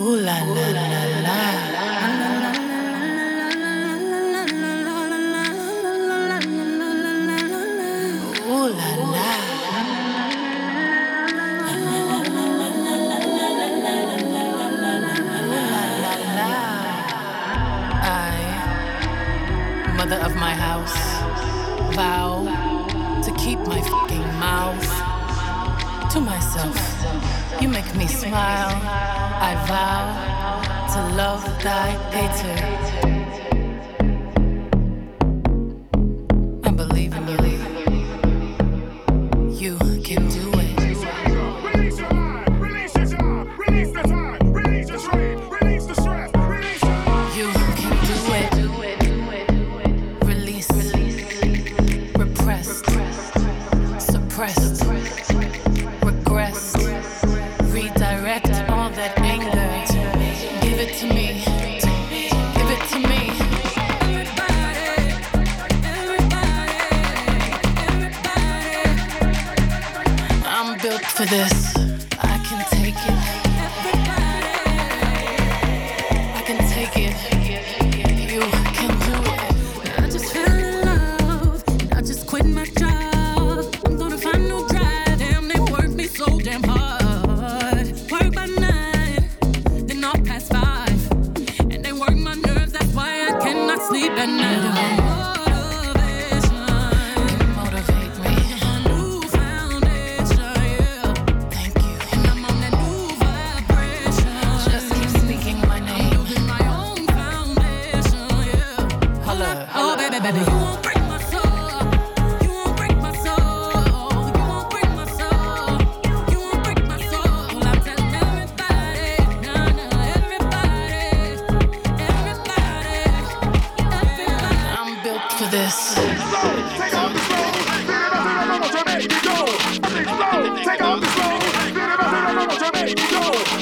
Mother of my house, vow to keep my fucking mouth to myself. You make me smile. I vow to love thy hater. I believe in you. You can do it. Release your mind, release your job, release the time, release the strain, release the stress, release your... You can do it. Release, repressed, suppressed, regressed, redirect all that anger. Give it to me. Give it to me. I'm built for this. I can take it. I can take it. You can do it. I just fell in love, and I just quit my job. I'm gonna find no drive. Damn, they work me so damn hard. Work by 9, then off past 5, and they work my nerves. That's why I cannot sleep at night. Motivate me. New foundation, yeah. Thank you. And I'm on that new vibration. Just keep speaking my name. Building my own foundation, yeah. Holla. Oh, baby, baby, you won't break my soul. You won't break my soul. You won't break my soul. You won't break my soul. I'm telling everybody, everybody. I'm built for this. Take off the slow, Jamaica, go. Take off the slow, Jamaica, go.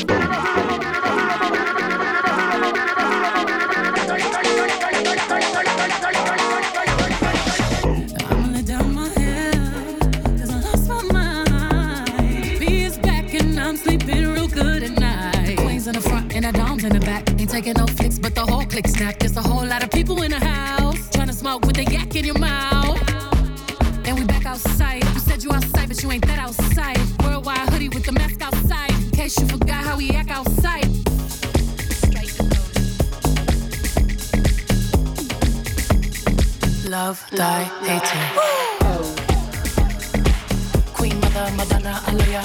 I'ma let down my hair, 'cause I lost my mind. B is back and I'm sleeping real good at night. Queens in the front and the doms in the back. Ain't taking no flicks, but the whole click snap. There's a whole lot of people in the house trying to smoke with the yak in your mouth. And we back outside. You said you outside, but you ain't that outside. Worldwide hoodie with the mask outside. In case you forgot how we act outside. Love thy hater. Queen Mother Madonna Alaya.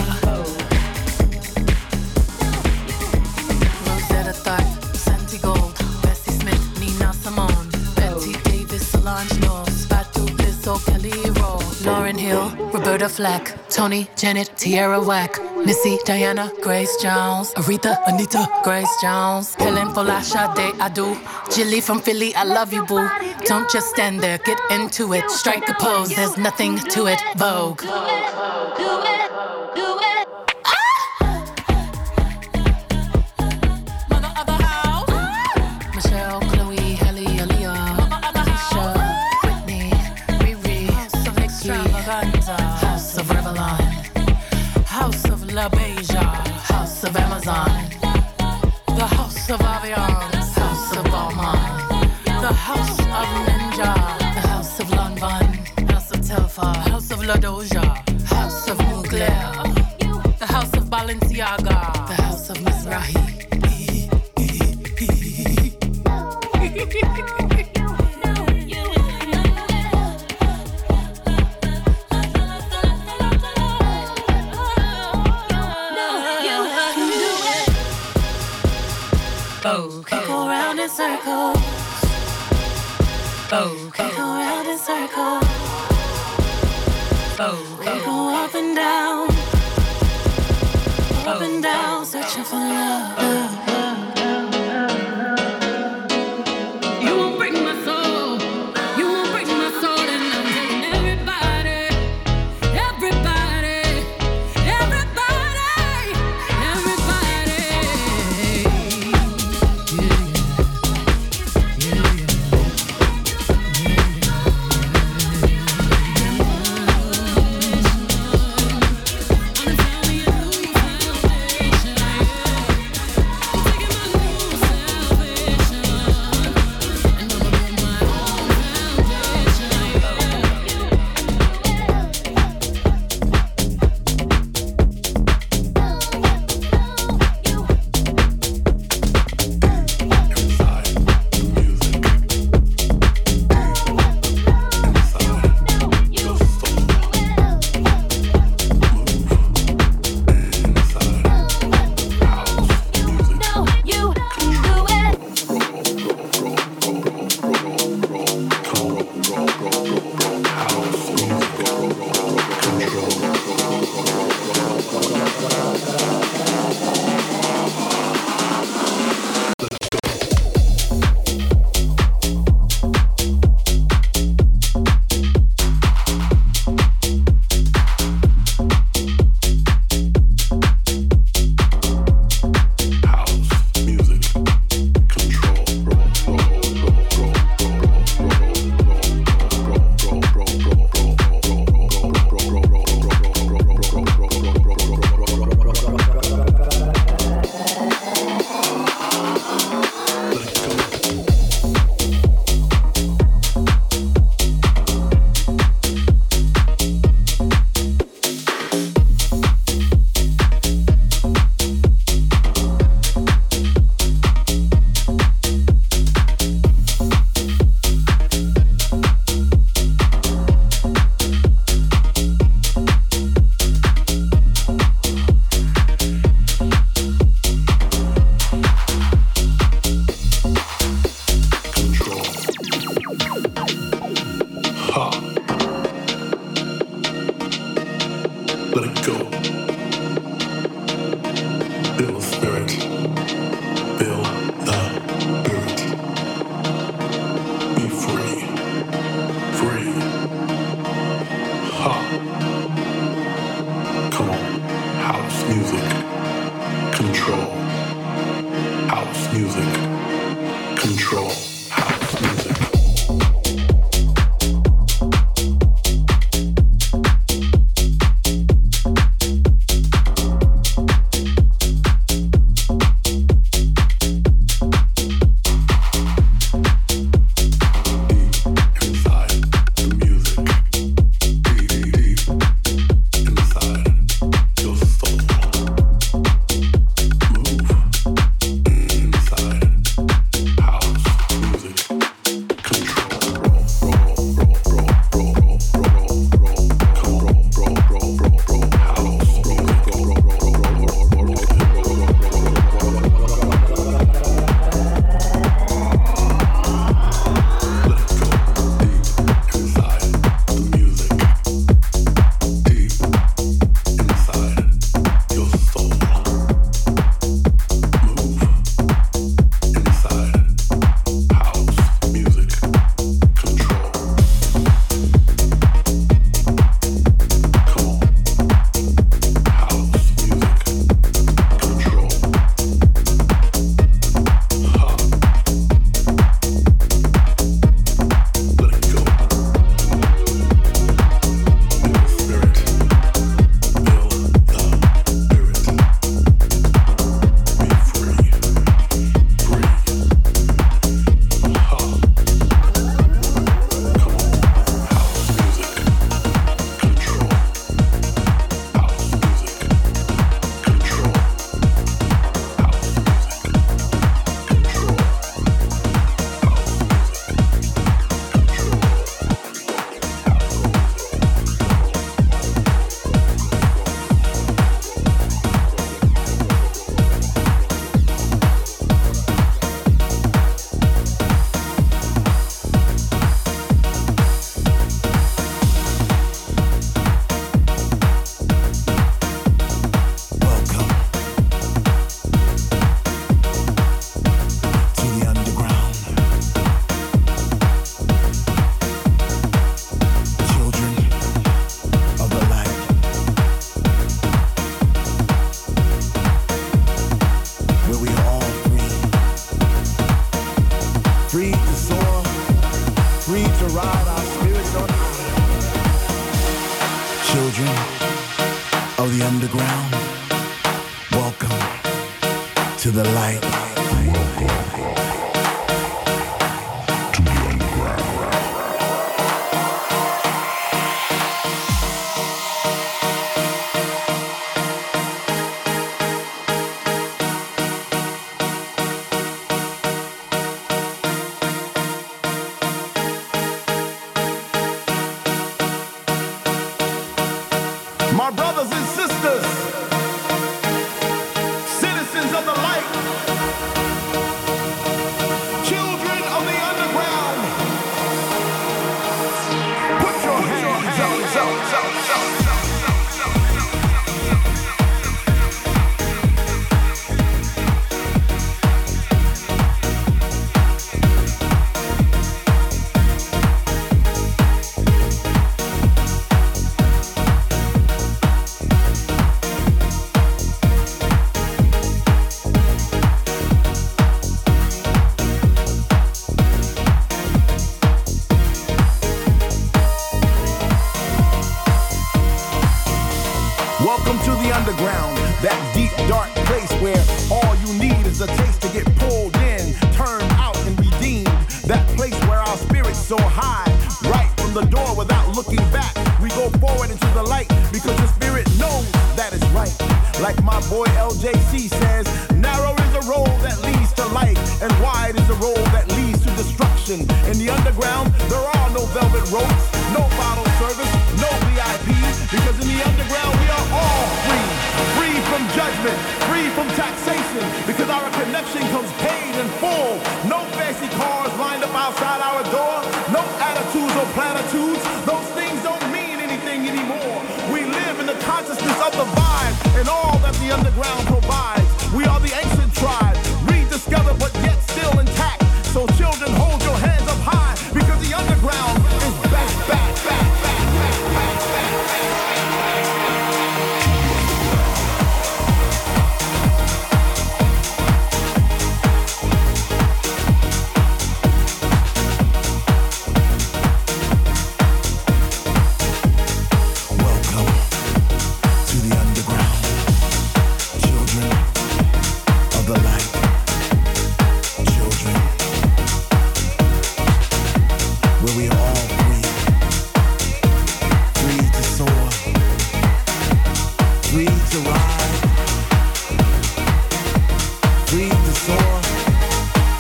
Rosetta Tharpe, Santi Gold, Bessie Smith, Nina Simone, Betty Davis, Solange Knowles, Fatu Blisso, Kelly Roll, Lauryn Hill, Roberta Flack, Tony, Janet, Tierra Whack, Missy, Diana, Grace Jones, Aretha, Anita, Grace Jones, Helen Folasha, Day Adu, Jilly from Philly, I love you, boo. Don't just stand there, get into it. Strike a pose, there's nothing to it. Vogue. Mother of the house. Michelle, Chloe, Halle, Aaliyah, Keisha, Whitney, Riri, House of Extravaganza, House of Revlon, House of La Beja, House of Amazon, the House of Avion, House of Balmain, the House of Ninja, the House of Lanvin, House of Telfar, House of La Doja, House of Mugler, the House of Balenciaga, the House of Mizrahi. Okay. Go round in circles. Okay. Go round in circles. Okay. Go up and down. Up and down, searching for love. You won't break my soul. You won't break my soul. And I'm telling everybody, everybody, everybody, everybody.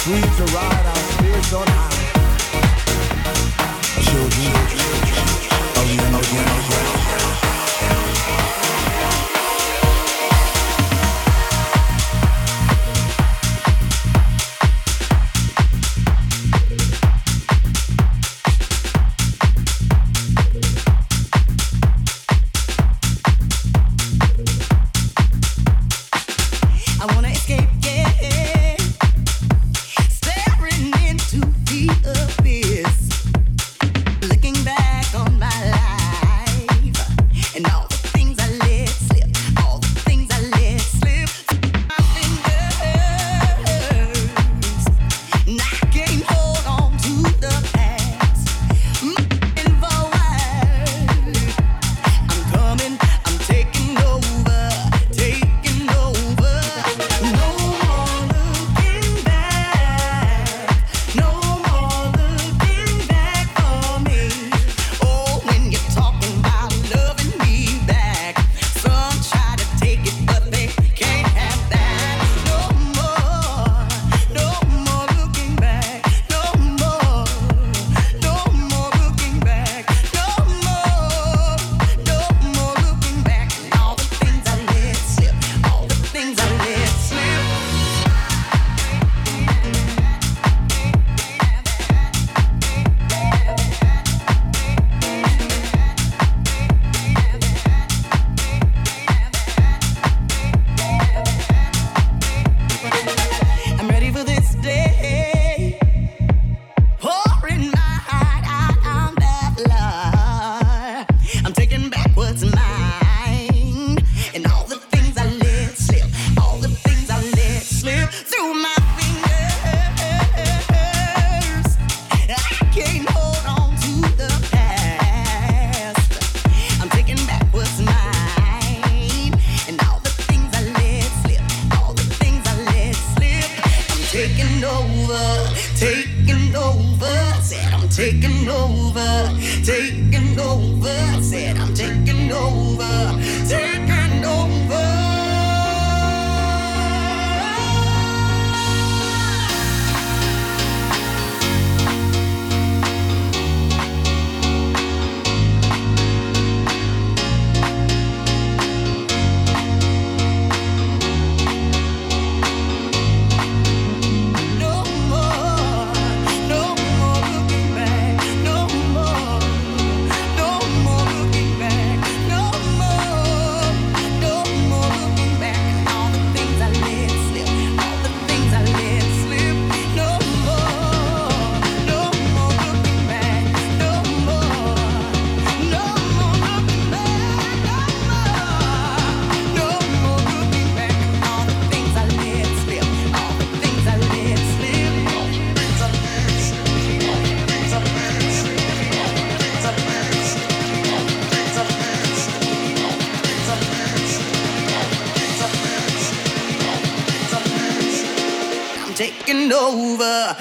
free to ride our spirits on high. Children of the underground. Taking over.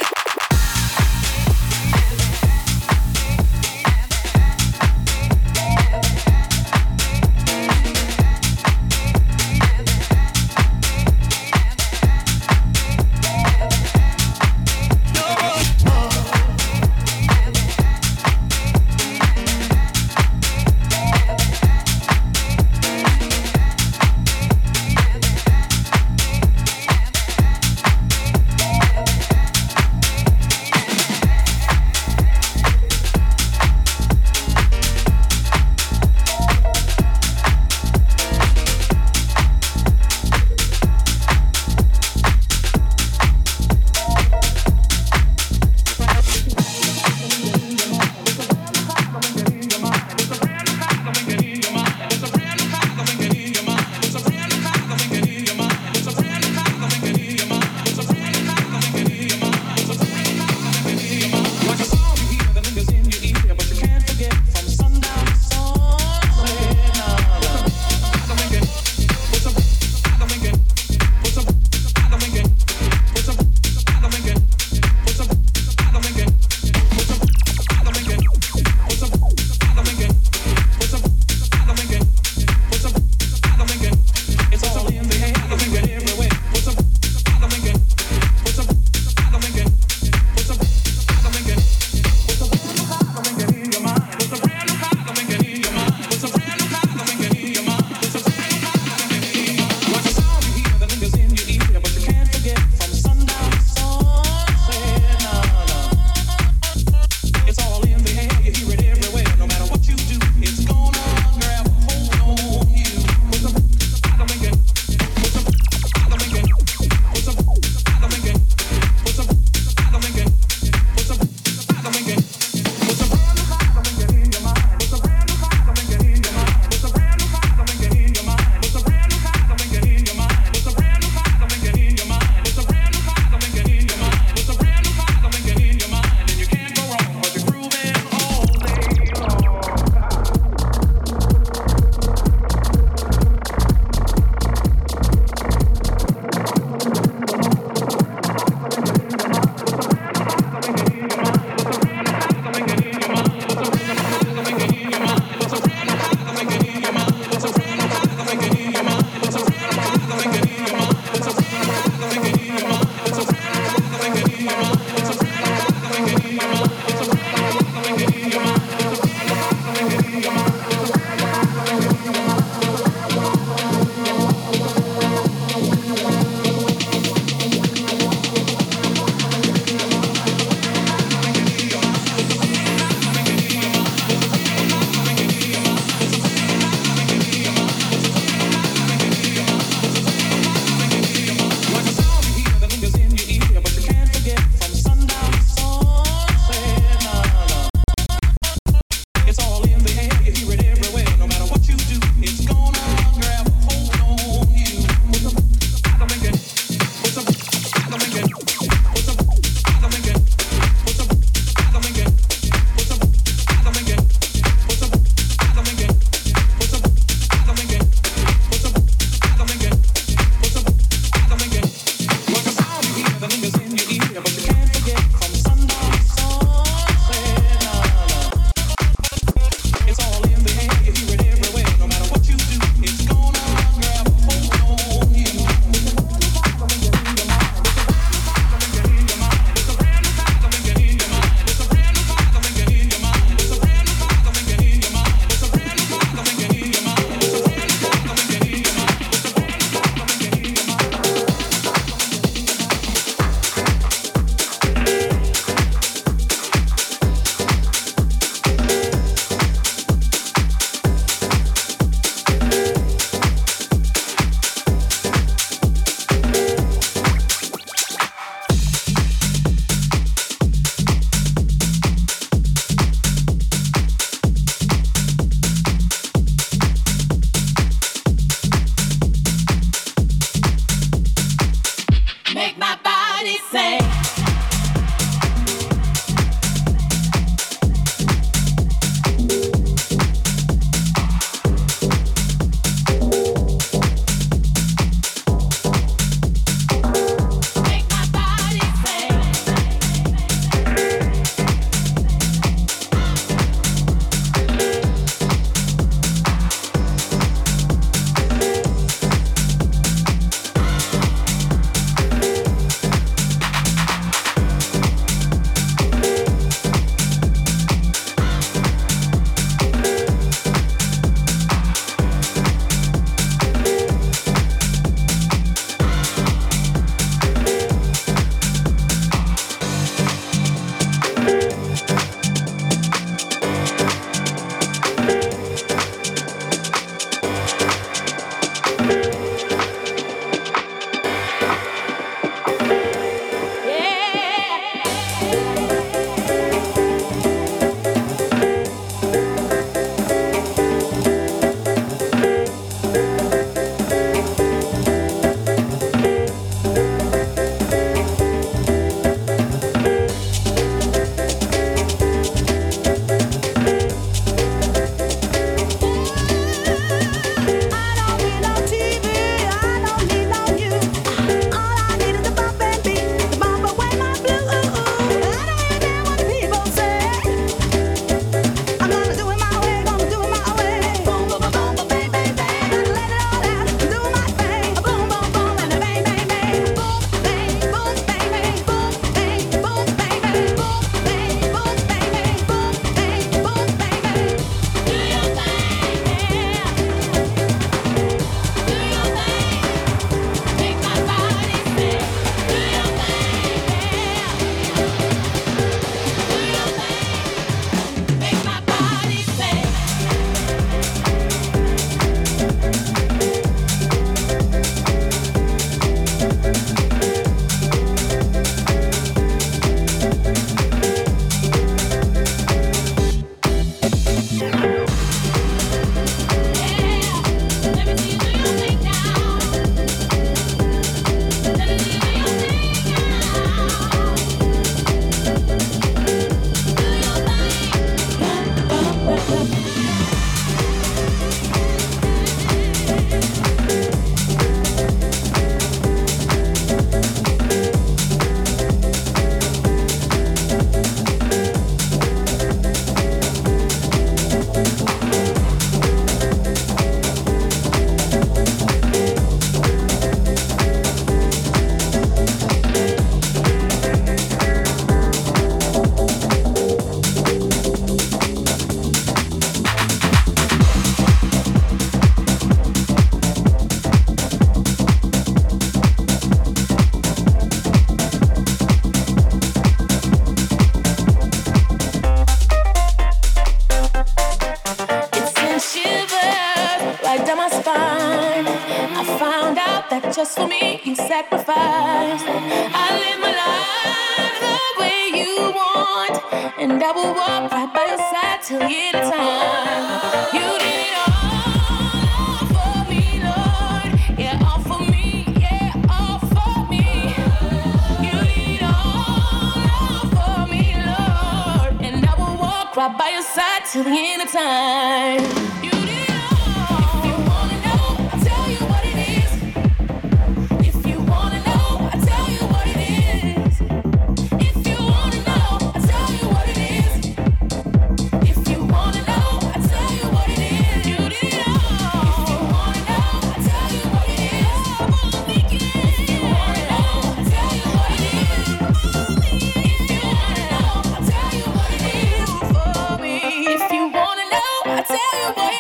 just for me, you sacrificed. I live my life the way you want, and I will walk right by your side till the end of time. You did it all for me, Lord. Yeah, all for me, yeah, all for me. You did it all for me, Lord, and I will walk right by your side till the end of time. You did it all. If you wanna know, I'll tell you what it is. If you wanna know, I'll tell you what it is. If you wanna know, I'll tell you what it is. If you wanna know, I'll tell you what it is. You did it all. If you wanna know, I'll tell you what it is. If you wanna know, I'll tell you what it is. If you wanna know, I'll tell you what it is for me. If you wanna know, I'll tell you what it is.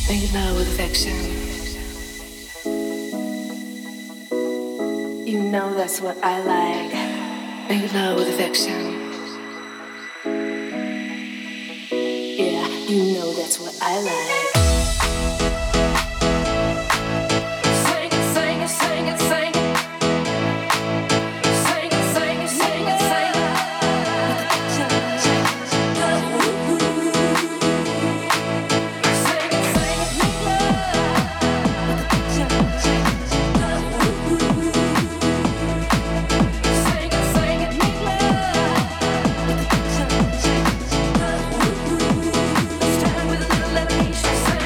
Make love with affection. You know that's what I like. Make love with affection. Yeah, you know that's what I like. Sing it, sing it, sing it, sing it. Sing it, sing it, sing it, sing it. Sing it, sing it, make love. Sing it, sing it, make love. Let's start with a little elevation.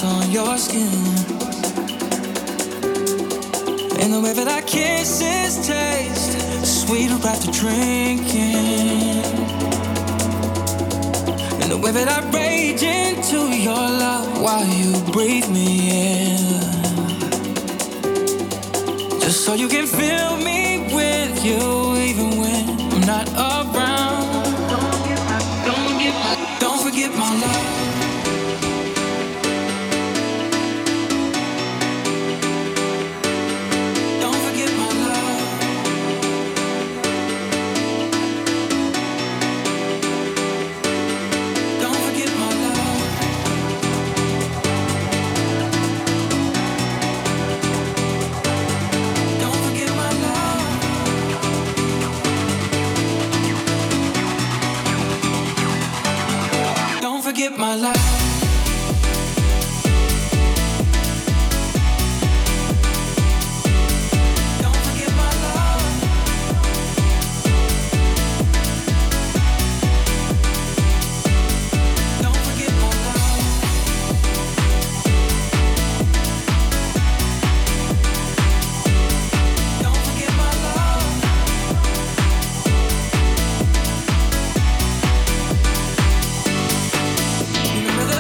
on your skin, and the way that our kisses taste sweet after drinking, and the way that I rage into your love while you breathe me in, just so you can fill me with you even when I'm not around. Don't forget my love. Forget my life. Don't forget my love. Don't forget my love. Don't forget my love. Remember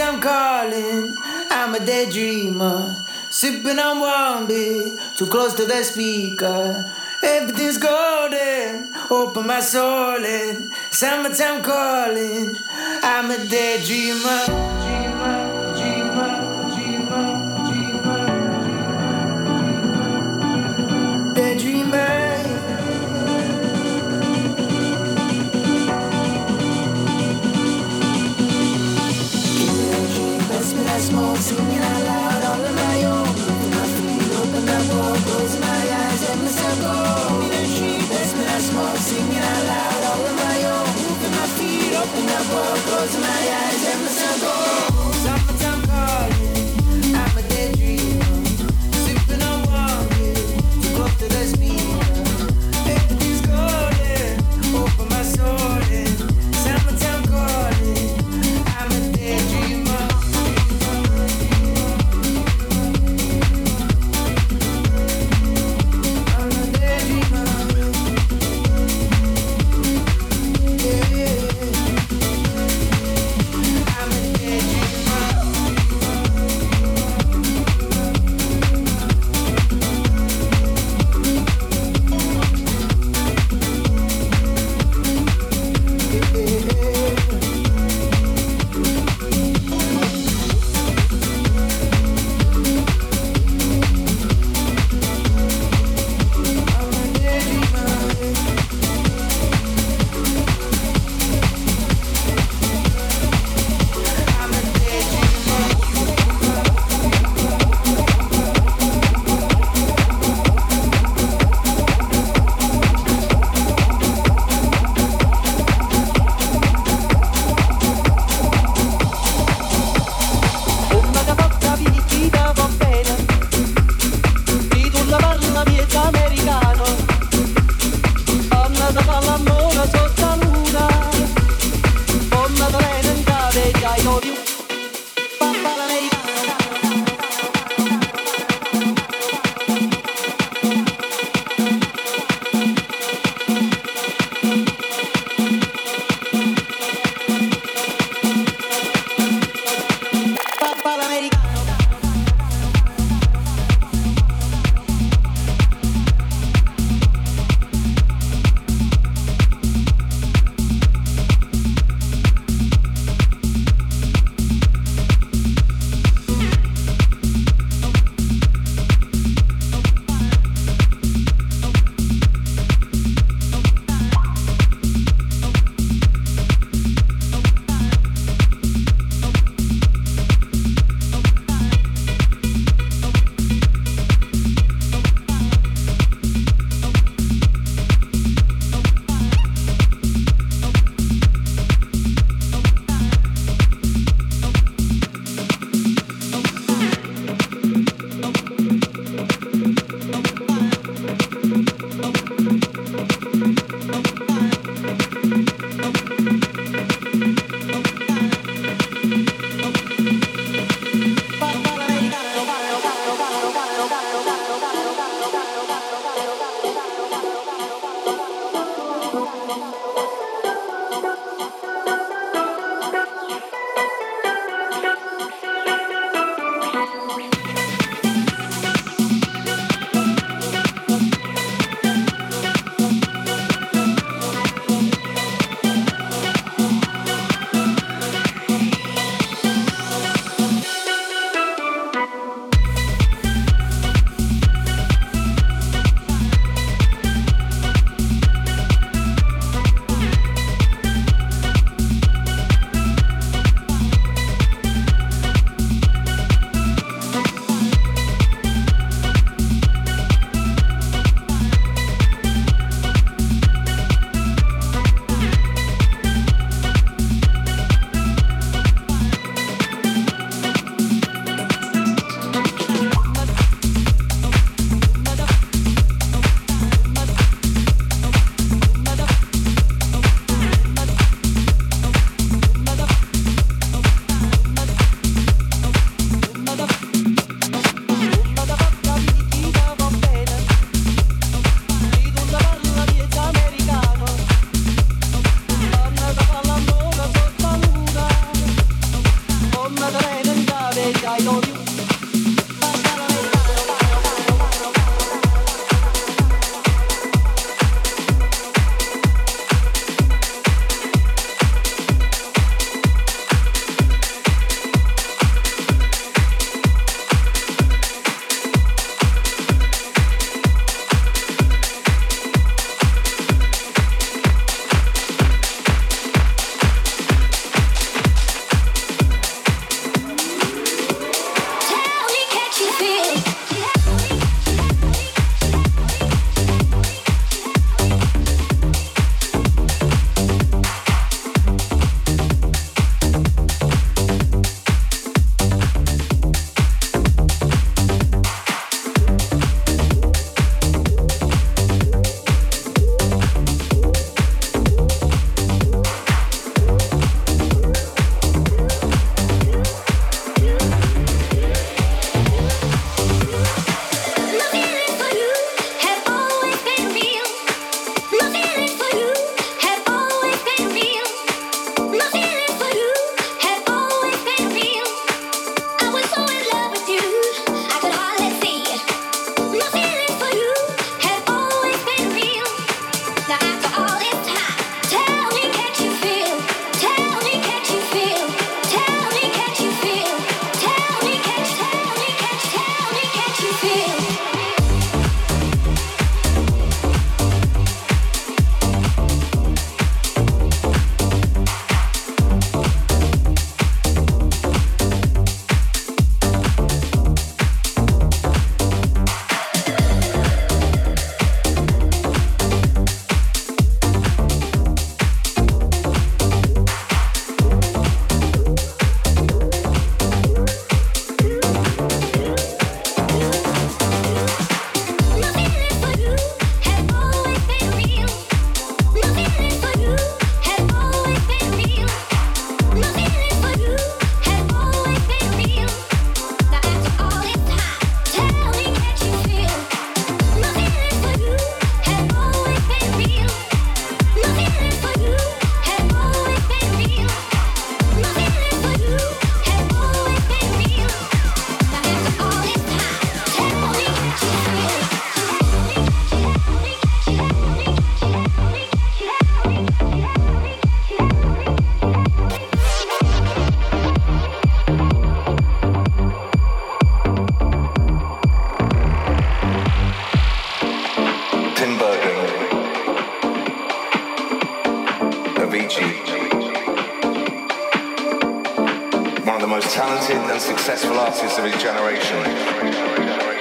Summertime calling, I'm a daydreamer. Sipping on one beer, too close to the speaker. Everything's golden, open my soul in. Summertime calling, I'm a daydreamer. Dreamer, dreamer, dreamer, dreamer, dreamer. Daydreamer. I smoke, singing out loud, all on my own. Moving my feet, open up, all, closing my eyes, let myself go. That's when I smoke, singing out loud, all on my own. Moving my feet, open up, all, closing my eyes, let myself go. Summertime calling, I'm a daydreamer. Sipping on warm beer, too close to the speaker. Everything's golden, open my soul in. Summertime calling, I'm a daydreamer. One of the most talented and successful artists of his generation.